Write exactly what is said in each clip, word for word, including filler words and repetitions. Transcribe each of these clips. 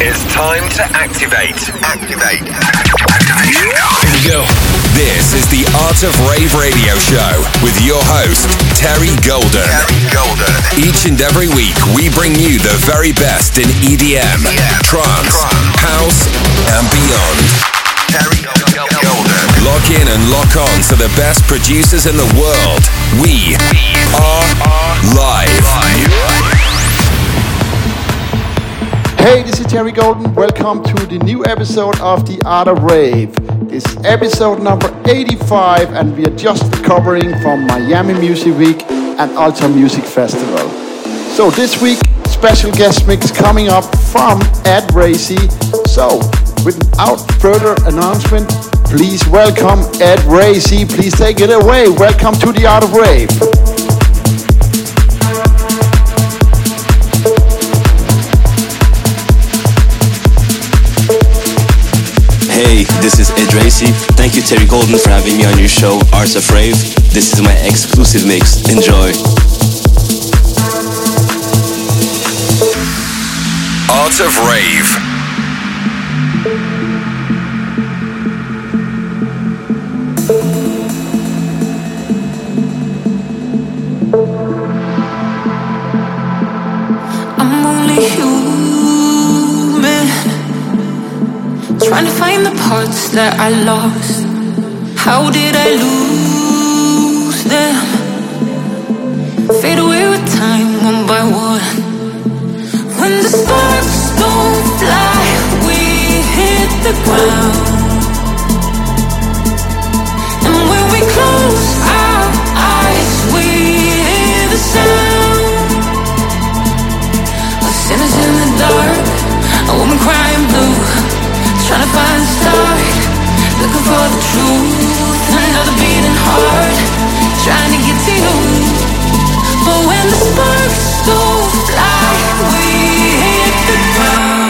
It's time to activate. Activate. Activation. Here we go. This is the Art of Rave Radio Show with your host, Terry Golden. Terry Golden. Each and every week, we bring you the very best in E D M, yeah. trance, trance, house, and beyond. Terry Golden. Lock in and lock on to the best producers in the world. We are live. Hey, this is Terry Golden. Welcome to the new episode of The Art of Rave. This is episode number eighty-five, and we are just recovering from Miami Music Week and Ultra Music Festival. So this week, special guest mix coming up from Ed Racy. So, without further announcement, please welcome Ed Racy. Please take it away. Welcome to The Art of Rave. Hey, this is Ed Racy. Thank you, Terry Golden, for having me on your show, Art of Rave. This is my exclusive mix. Enjoy. Art of Rave. I'm only human, trying to find the parts that I lost. How did I lose them? Fade away with time, one by one. When the sparks don't fly, we hit the ground. And when we close our eyes, we hear the sound of sinners in the dark, a woman crying blue, trying to find a start, looking for the truth. Another beating heart, trying to get to you. But when the sparks don't fly, we hit the ground.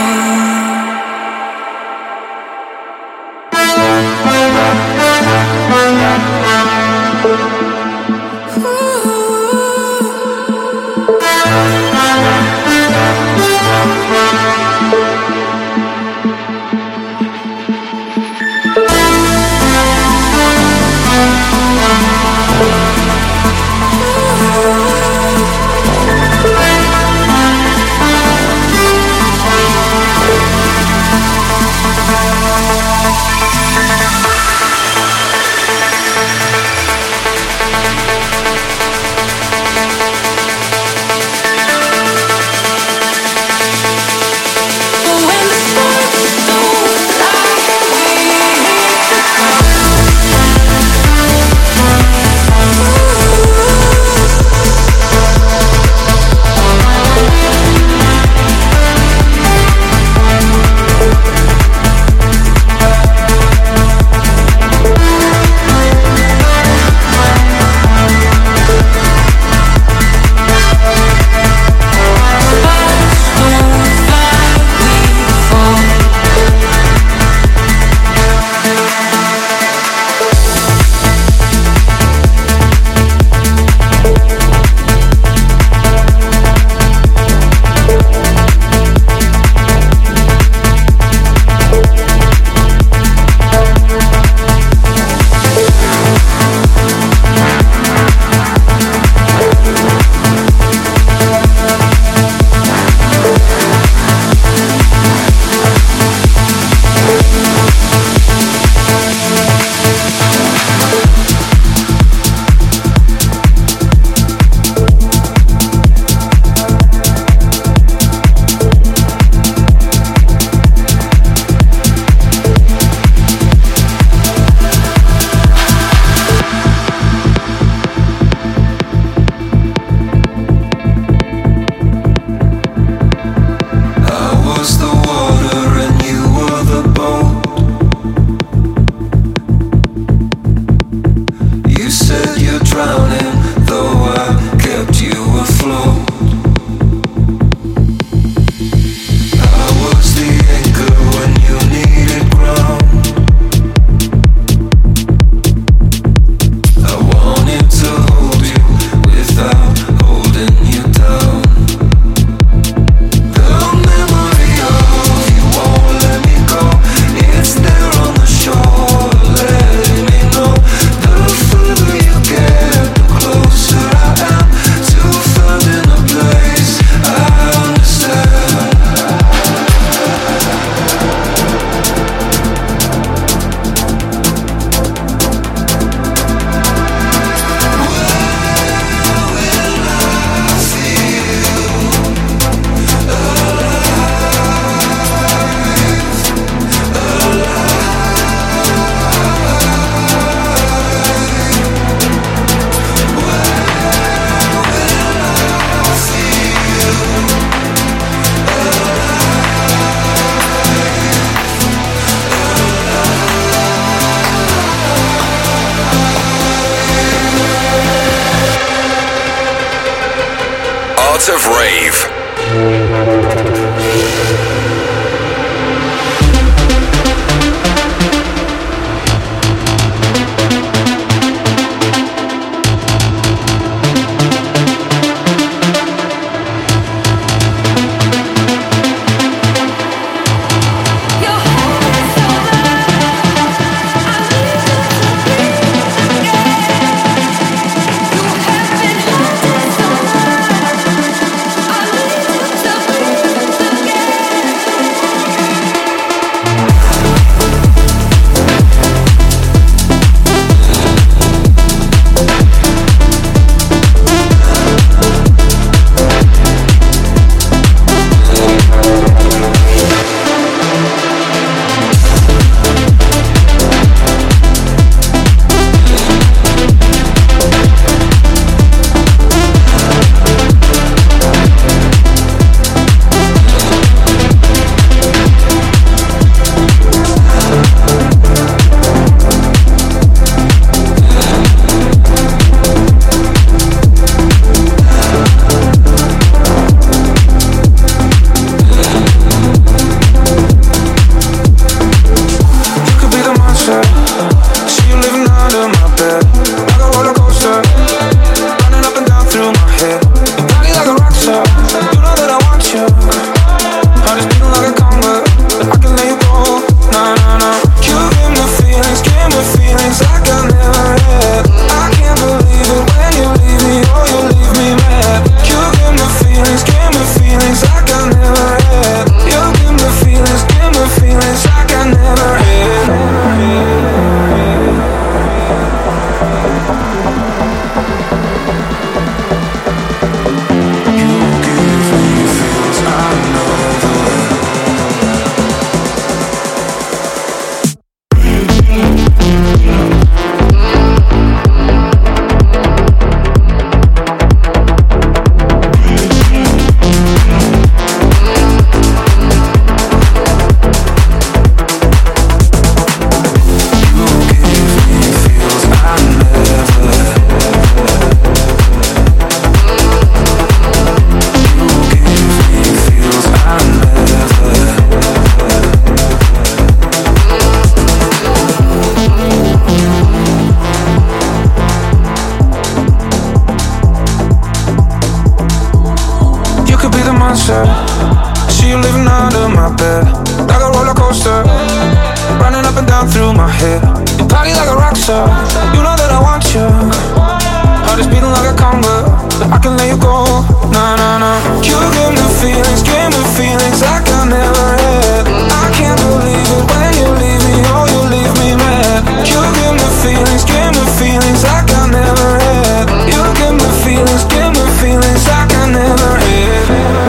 feelings like I never had. I can't believe it when you leave me, oh you leave me mad. You give me feelings, give me feelings like I never had. You give me feelings, give me feelings like I never had.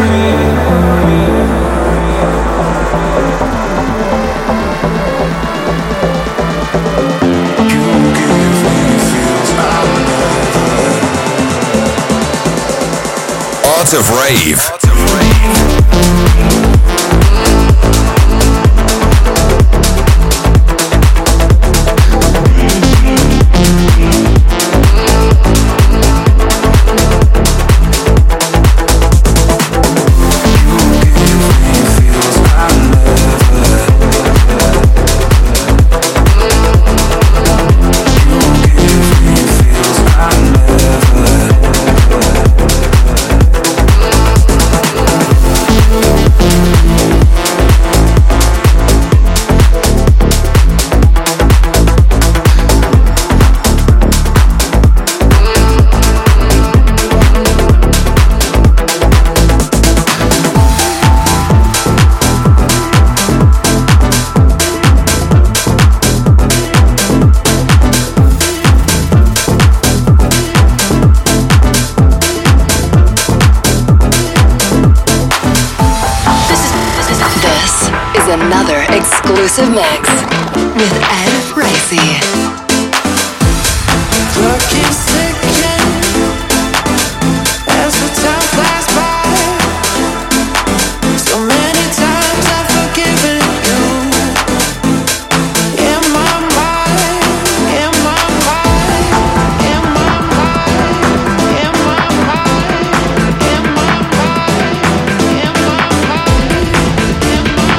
Art of Rave. Another exclusive mix with Ed Racy. Clock keeps ticking as the time flies by. So many times I've forgiven you. In my mind, in my mind, in my mind, in my mind, in my mind, in my mind, in my mind.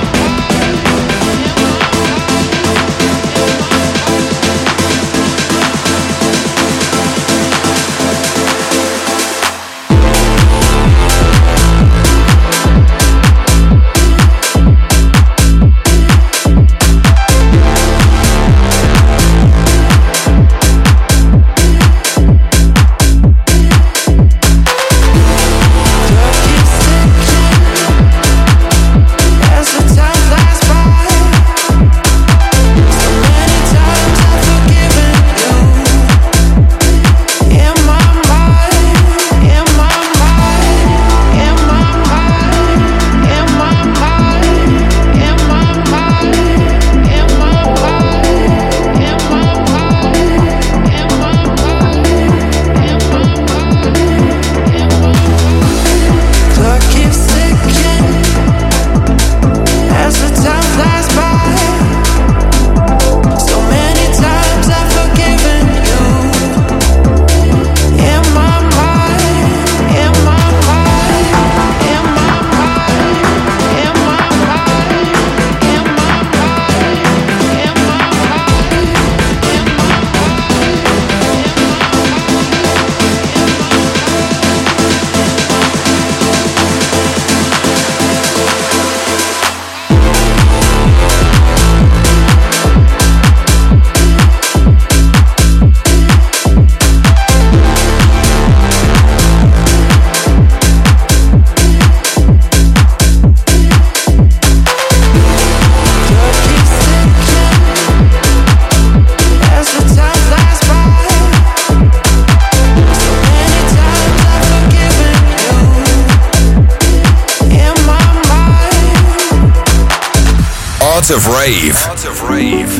Art of Rave. Art of Rave.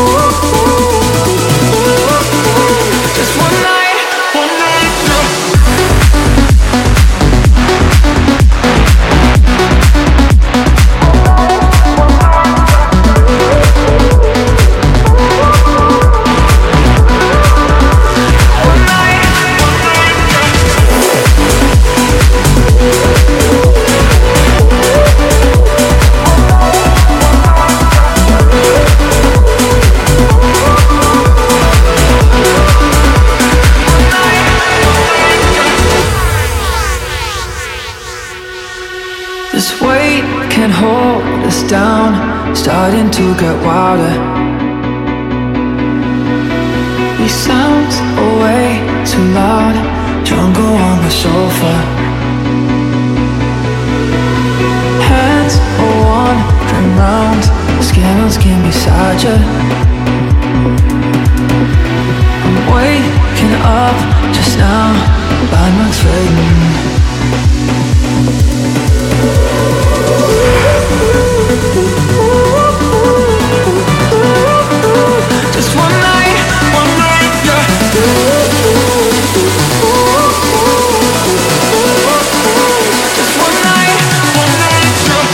Just one night, one night, no. starting to get wilder. These sounds are way too loud. Jungle on the sofa. Hands are wandering round. Skin on skin beside you. I'm waking up just now. Landmarks fading. Just one night, one night, yeah. Just one night, one night, yeah.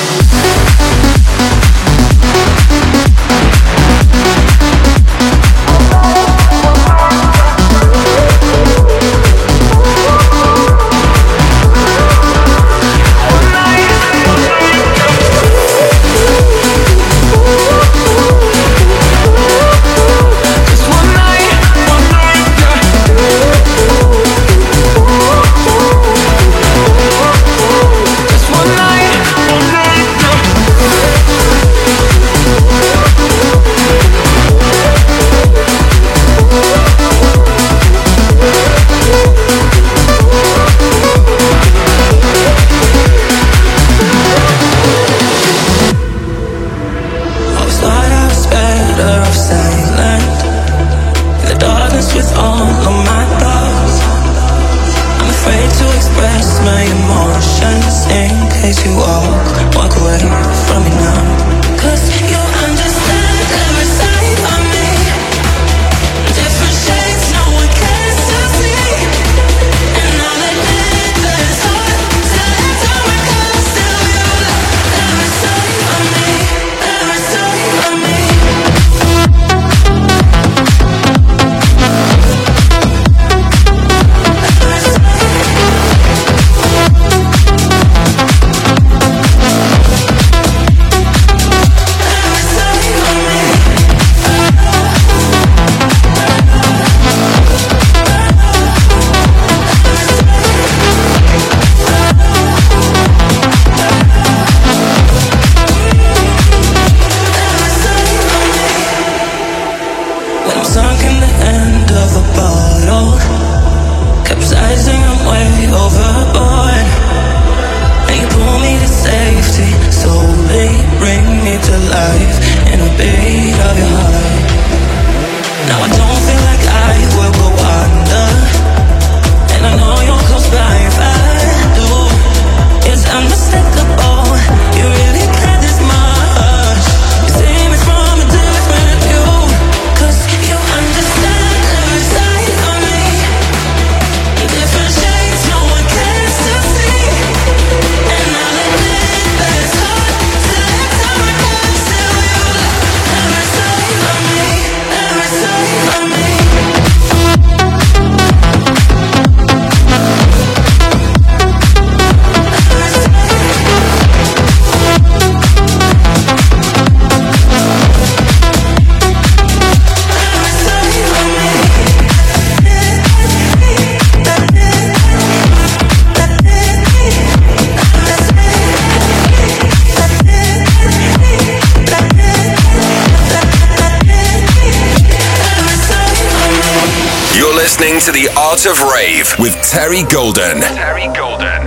To the Art of Rave with Terry Golden. Terry Golden.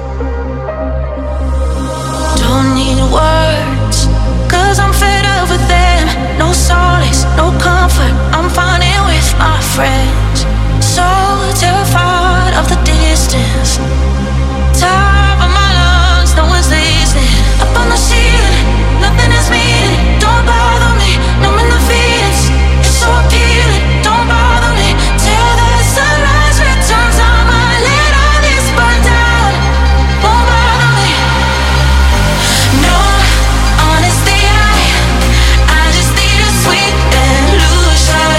Don't need words, cause I'm fed up with them. No solace, no comfort, I'm finding with my friends. So terrified of the distance. Top of my lungs, no one's listening. Up on the ceiling, nothing is meaning. Don't bother me, numbing the feelings. It's so appealing, don't bother me. Till the sunrise returns, I might let all this burn down. Won't bother me. No, honestly, I I just need a sweet illusion.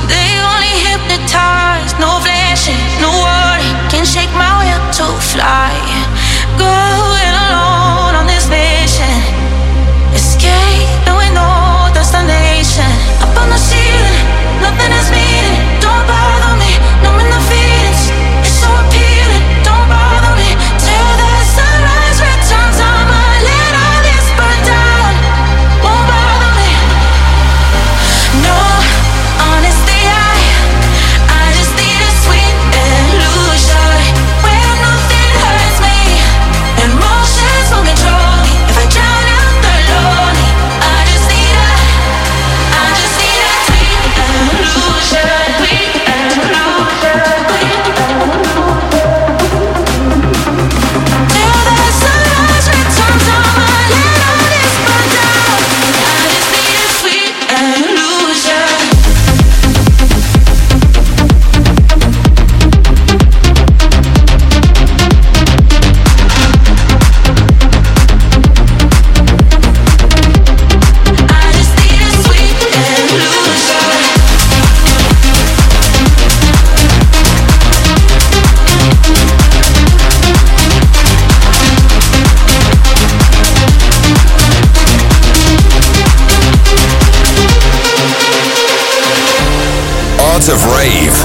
They only hypnotize, no flashing, no worry can shake my will to fly. Going alone on this mission, escape, and we know destination. Up on the ceiling, nothing is meaning. Don't bother me, numbing the feelings. It's so appealing. Don't bother me till the sunrise returns. I'ma let all this burn down. Won't bother me. No, honestly, I, I just need a sweet illusion where nothing hurts me. Emotions won't control me if I drown out the lonely. I just need a, I just need a sweet illusion, sweet illusion, sweet illusion. Till the sunrise returns, I'ma let all this burn down. I just need a sweet illusion. I just need a sweet illusion. Art of Rave.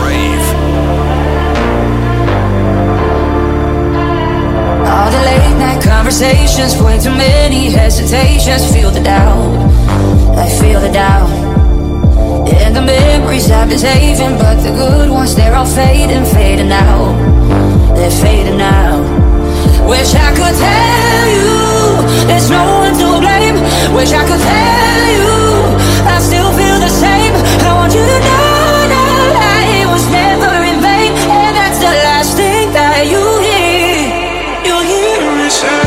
All the late night conversations, way too many hesitations. Feel the doubt, I feel the doubt. And the memories I've been saving, but the good ones, they're all fading, fading out. They're fading out. Wish I could tell you there's no one to blame. Wish I could tell you I still feel the same. I want you to know that it was never in vain. And that's the last thing that you hear. You hear me say.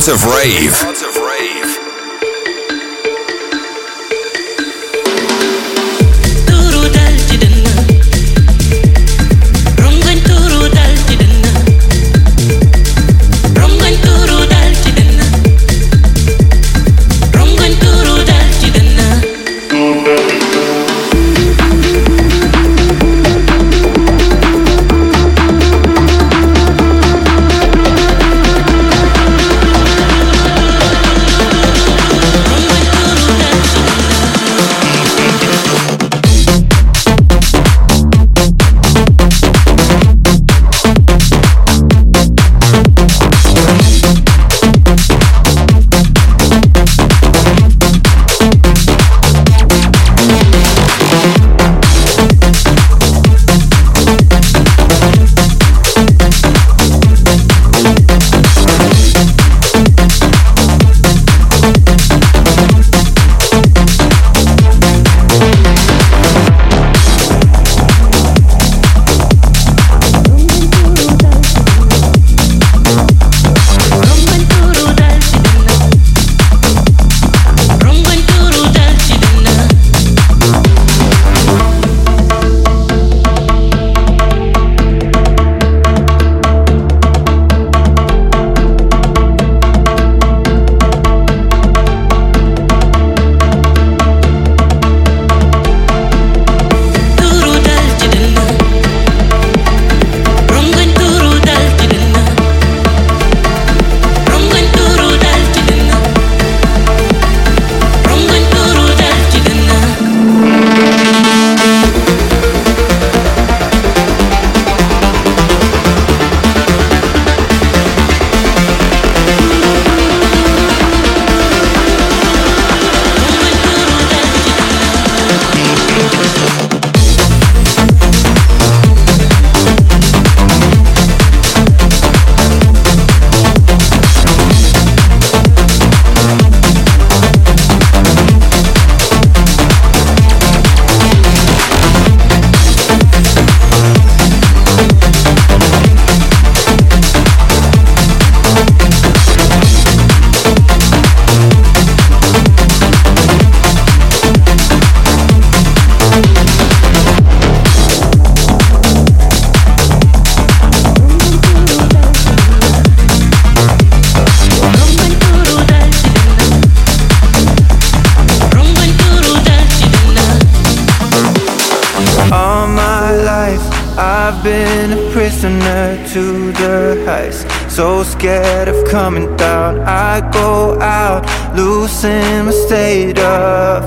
Art of Rave. Art of Rave. To the heights, so scared of coming down. I go out, losing my state of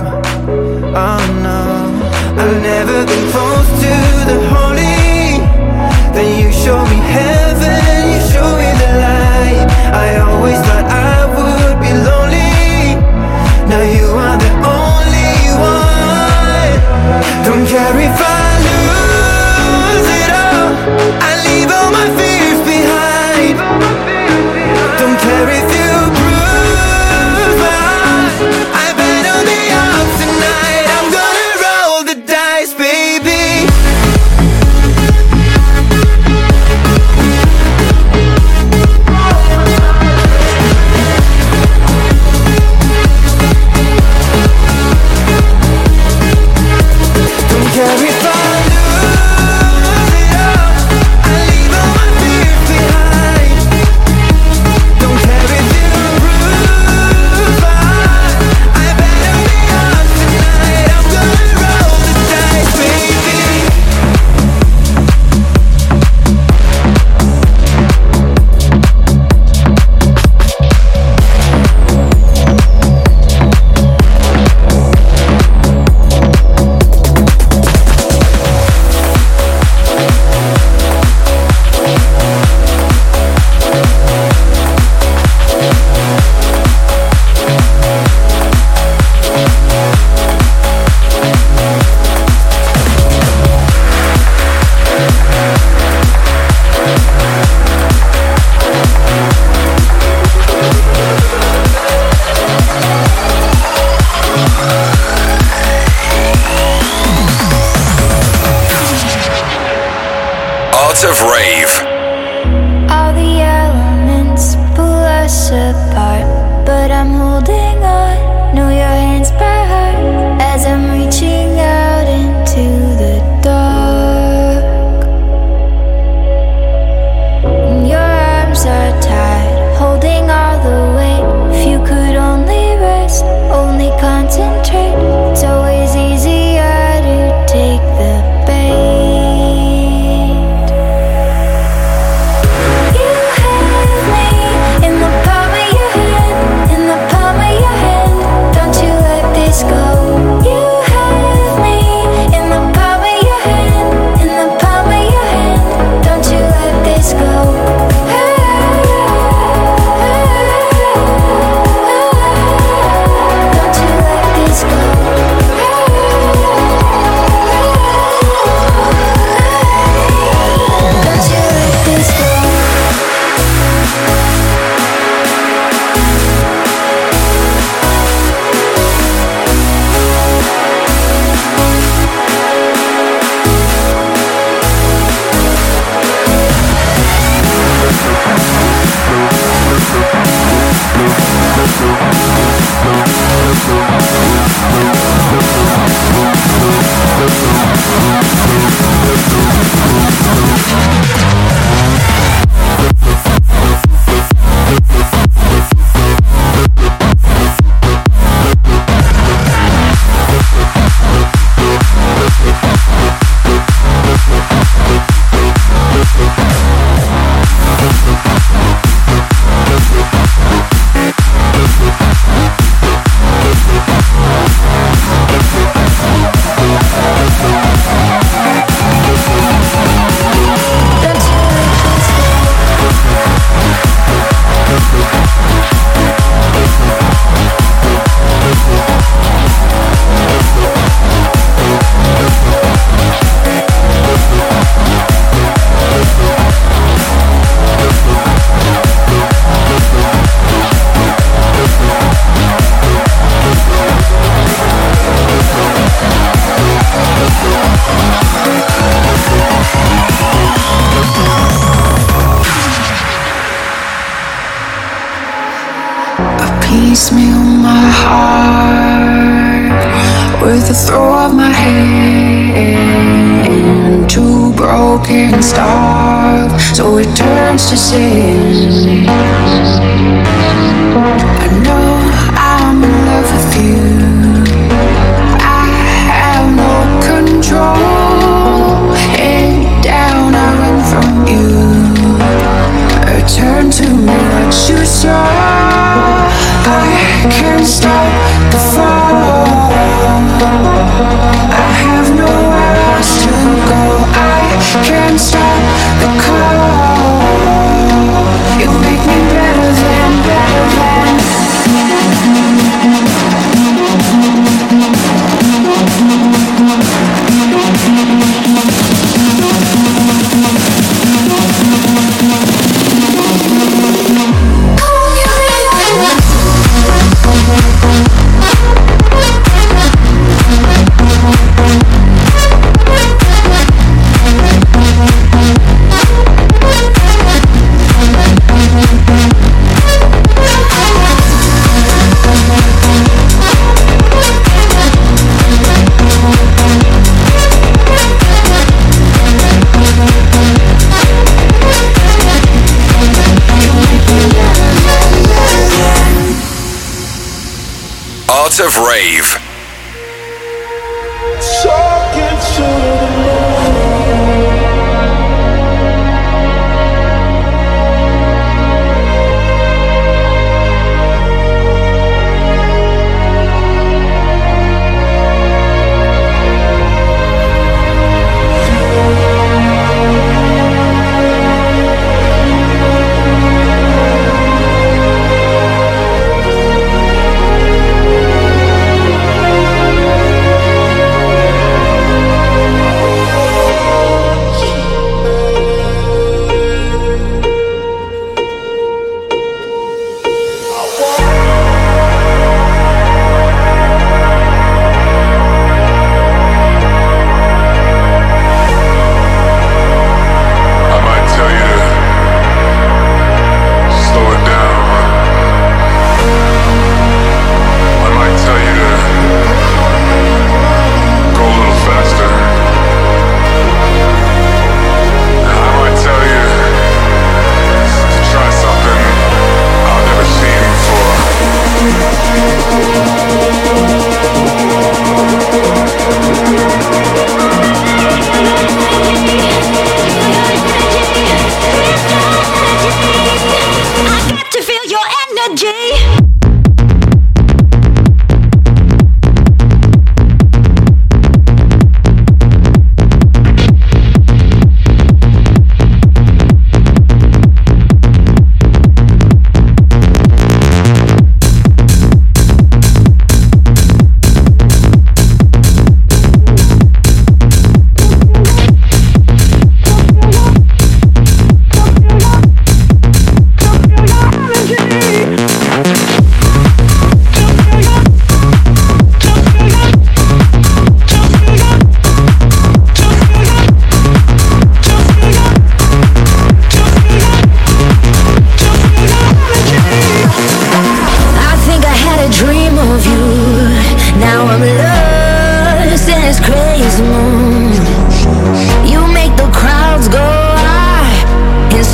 oh no. I've never been close to the holy. Then you show me heaven, you show me the light. I always thought I would be lonely. Now you are the only one. Don't care if I lose it all, I leave all my fears behind. Don't care if you bruise my heart, I bet on the odds tonight. I'm gonna roll the dice, baby. Don't care if I Art of Rave. All the elements blur us apart, but I'm holding on. Know your hands by heart as I'm reaching out into the dark. Your arms are tied, holding all the weight. If you could only rest, only concentrate, it's always easier to take the bait. You have me in the palm of your hand, in the palm of your hand. Don't you let this go. You have me in the palm of your hand, in the palm of your hand. Don't you let this go. Piecemeal my heart with the throw of my hand, too broken and starved, so it turns to sin. I know I'm in love with you. I have no control. Head down, I run from you. Return to me what you saw. I can't stop the fall. I have nowhere else to go. I can't stop the call. You make me better than, better than. Art of Rave.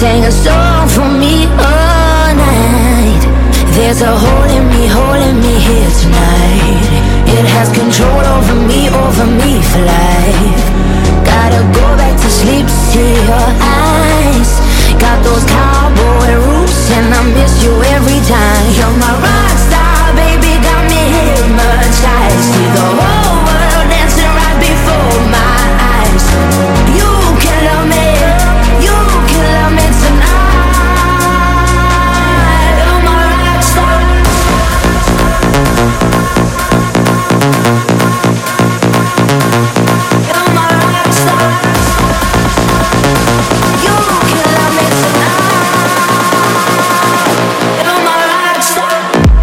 sang a song for me all night. There's a hole in me, hole in me here tonight. It has control over me, over me for life. Gotta go back to sleep, see your eyes. Got those cowboy roots and I miss you every time. You're my rock star, baby, got me hypnotized. See the whole world dancing right before my eyes. You can love me, you can love me tonight. You're my rock star. You're my rock star. You can love me tonight. You're my rock star.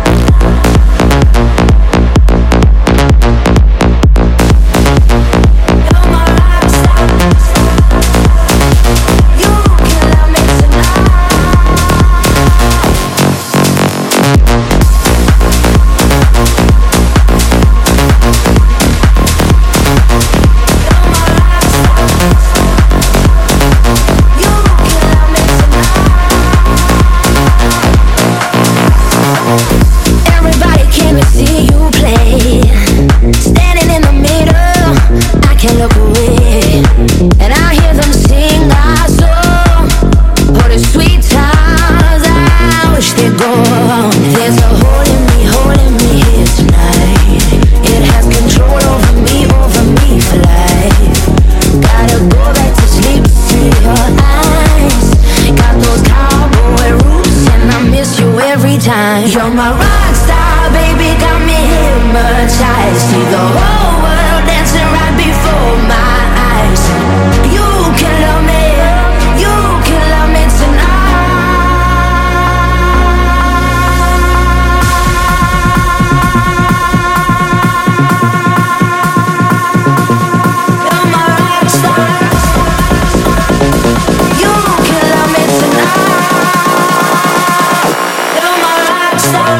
Everybody came to see you play. Standing in the middle, I can't look away. And I hear them sing our song. Oh, the sweet times, I wish they'd go on. There's a hole in me, hole in me here tonight. It has control over me, over me for life. Gotta go back to sleep, see your eyes. Got those cowboy roots and I miss you every time. You're my rock star, baby, got me hypnotized. See the whole world dancing right before my eyes. You can love me, you can love me tonight. You're my rock star. You can love me tonight. You're my rock star.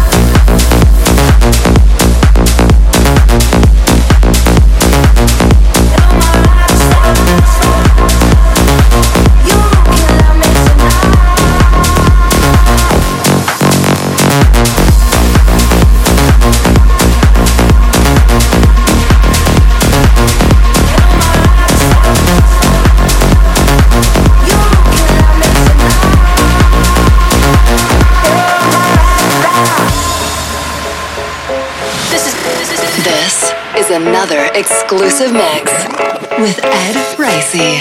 This is another exclusive mix with Ed Ricey.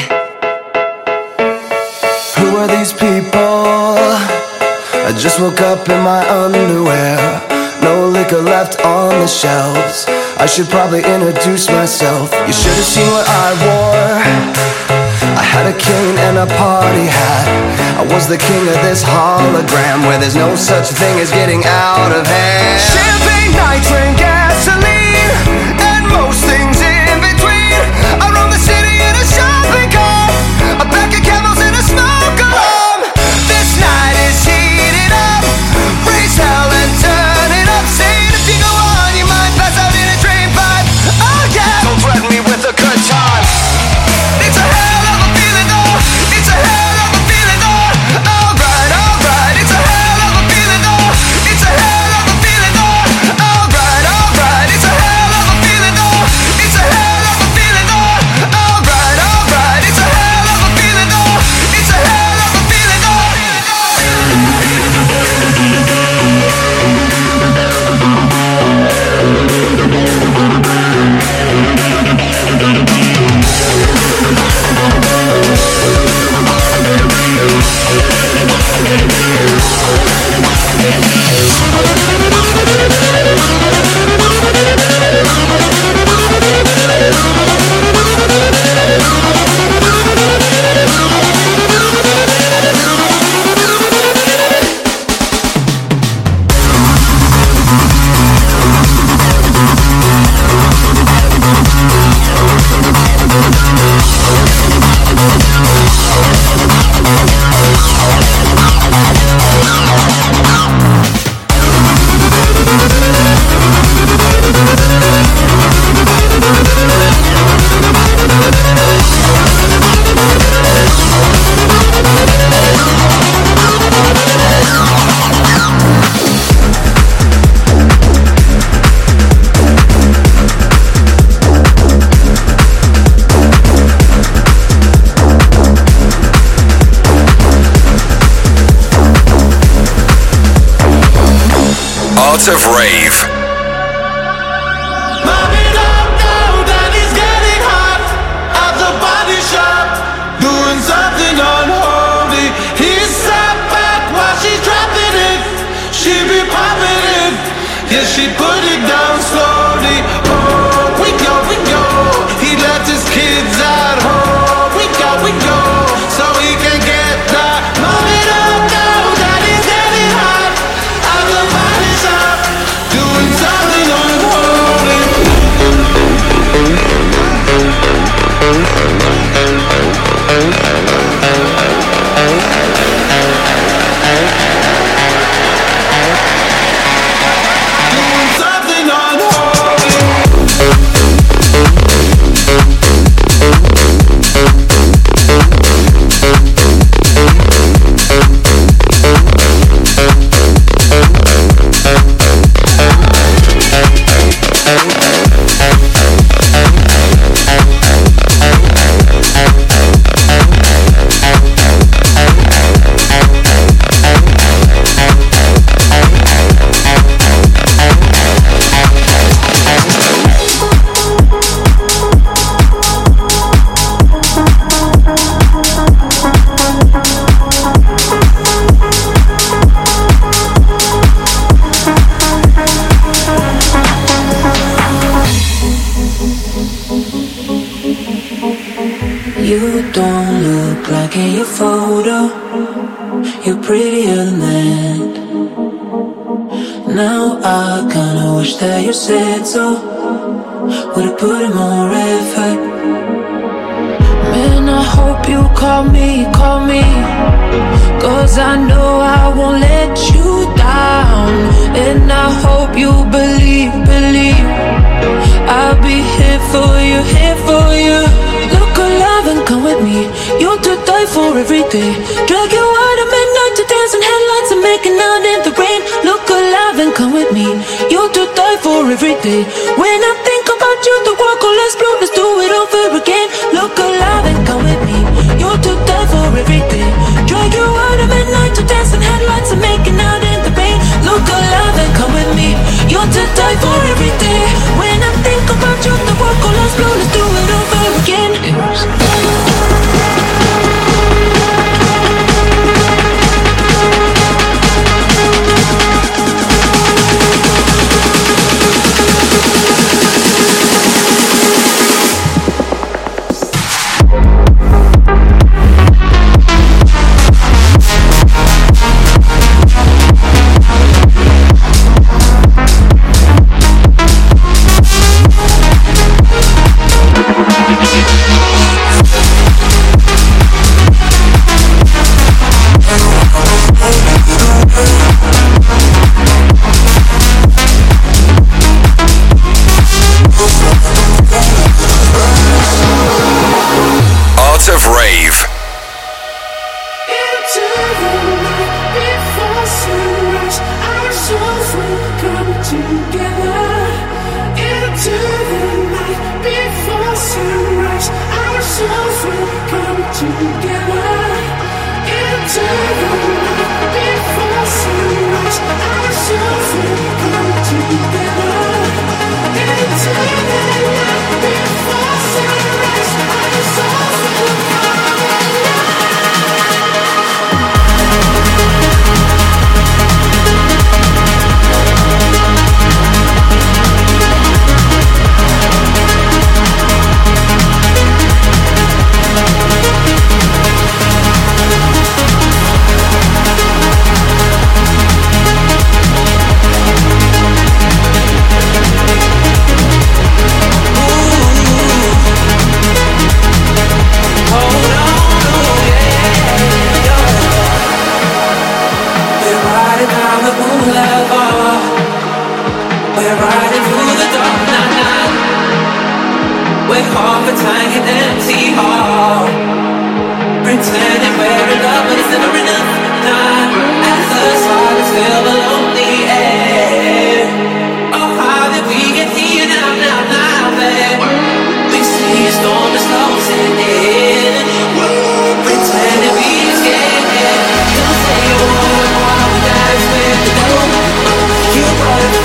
Who are these people? I just woke up in my underwear. No liquor left on the shelves. I should probably introduce myself. You should have seen what I wore. I had a cane and a party hat. I was the king of this hologram where there's no such thing as getting out of hand. Champagne, night train, gasoline, and most things in between. I roam the city in a shopping cart, a pack of camels and a smoke alarm. This night is heating up. Raise hell and turn it up. Saying if you go on, you might pass out in a drain pipe. Oh yeah, don't threaten me with a good time. It's a hell of a feeling though. It's a hell of a feeling though. Alright, alright. It's a hell of a feeling though. It's a hell of a feeling though. Alright, alright. It's a hell of a feeling though. It's a hell of a feeling though. Alright, alright. It's a hell of a feeling though. It's a hell of a feeling though. Art of Rave. Doing something unholy. He sat back while she's dropping it. She be popping it. Yeah, she put it down slowly. Oh, we go, we go. He left his kids at home. We go, we go. So he can get that. Mommy don't know that he's getting hot out the body shop. Doing something unholy. You don't look like in your photo. You're prettier than that. Now I kinda wish that you said so. Would've put in more effort. Man, I hope you call me, call me. Cause I know I won't let you down. And I hope you believe, believe I'll be here for you, here for you. Look alive and come with me. You're to die for every day. Drag you out at midnight to dance in headlights and making out in the rain. Look alive and come with me. You're to die for every day. When I think about you, the world will explode. Let's do it over again. Look alive and come with me. You're to die for every day. Drag you out at midnight to dance in headlights and making out in the rain. Look alive and come with me. You're to die for every day. When I think about you, the world will explode. Let's do it over again. Of Rave. Into the night before sunrise, our souls will come together. Into the night before sunrise, our souls will come together. Into the night before sunrise, our souls will come together. Into the night before sunrise, our souls will come together. You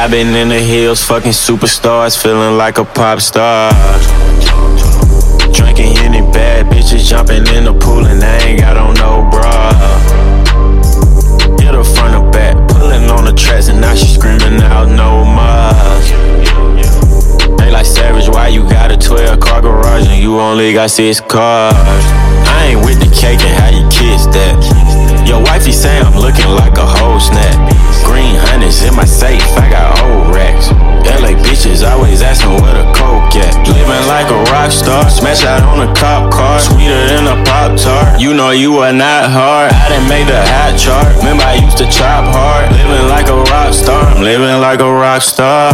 I've been in the hills, fucking superstars, feeling like a pop star. Drinking any bad bitches, jumping in the pool and I ain't got on no bra. Hit her front or back, pulling on the tracks and now she screaming out no more. They like Savage, why you got a twelve car garage and you only got six cars? I ain't with the cake and how you kiss that. Your wifey say I'm looking like a whole snap. Green hundreds in my safe, I got old racks. L A bitches always asking where the coke at. Living like a rock star, smash out on a cop car, sweeter than a Pop-Tart. You know you are not hard, I done made the hot chart. Remember I used to chop hard, living like a rock star. I'm living like a rock star.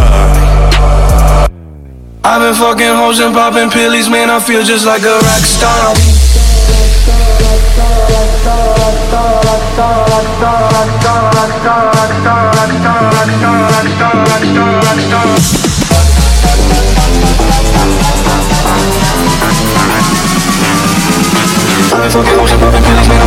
I've been fucking hoes and popping pillies, man, I feel just like a rock star. I've been fucking hoes and popping pillies, man,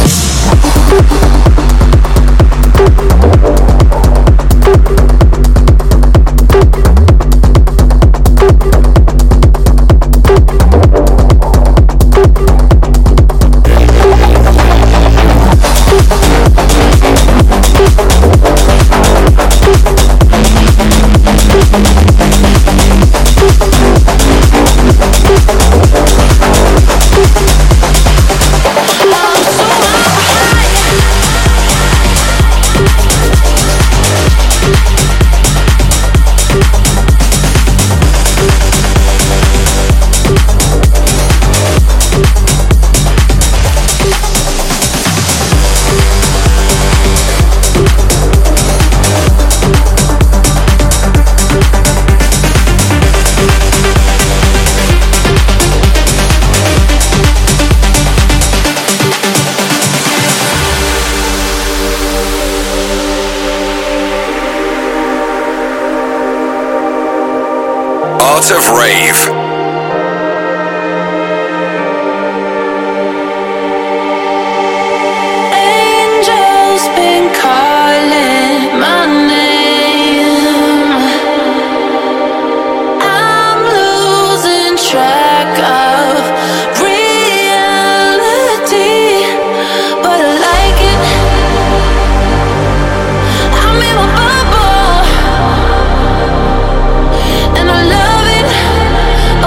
Art of Rave. And I love it.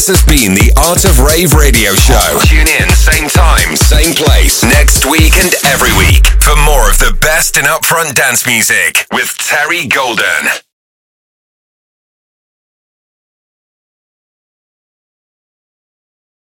This has been the Art of Rave Radio Show. Tune in, same time, same place, next week and every week for more of the best in upfront dance music with Terry Golden.